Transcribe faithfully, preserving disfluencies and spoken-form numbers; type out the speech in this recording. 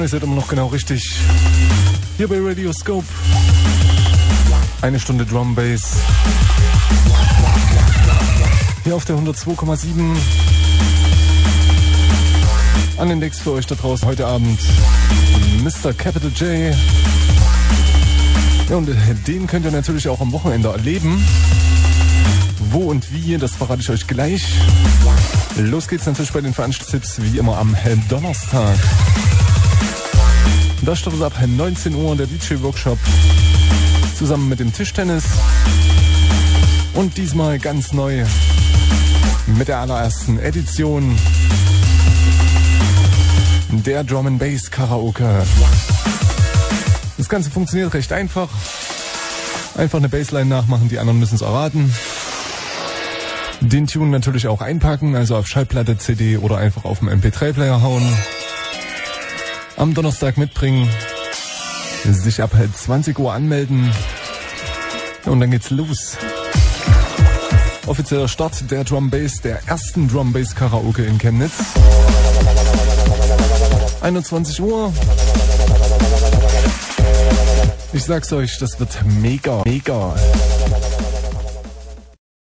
ihr seid immer noch genau richtig. Hier bei Radio Scope. Eine Stunde Drum Bass. Hier auf der hundertzwei Komma sieben. An den Decks für euch da draußen heute Abend Mister Capital J. Ja, und den könnt ihr natürlich auch am Wochenende erleben. Wo und wie, das verrate ich euch gleich. Los geht's natürlich bei den Veranstaltungstipps wie immer am Donnerstag. Da startet ab neunzehn Uhr der D J-Workshop zusammen mit dem Tischtennis. Und diesmal ganz neu mit der allerersten Edition der Drum and Bass Karaoke. Das Ganze funktioniert recht einfach. Einfach eine Bassline nachmachen, die anderen müssen es erraten. Den Tune natürlich auch einpacken, also auf Schallplatte, C D oder einfach auf dem M P drei Player hauen. Am Donnerstag mitbringen, sich ab zwanzig Uhr anmelden und dann geht's los. Offizieller Start der Drum Bass, der ersten Drum Bass Karaoke in Chemnitz. einundzwanzig Uhr. Ich sag's euch, das wird mega, mega.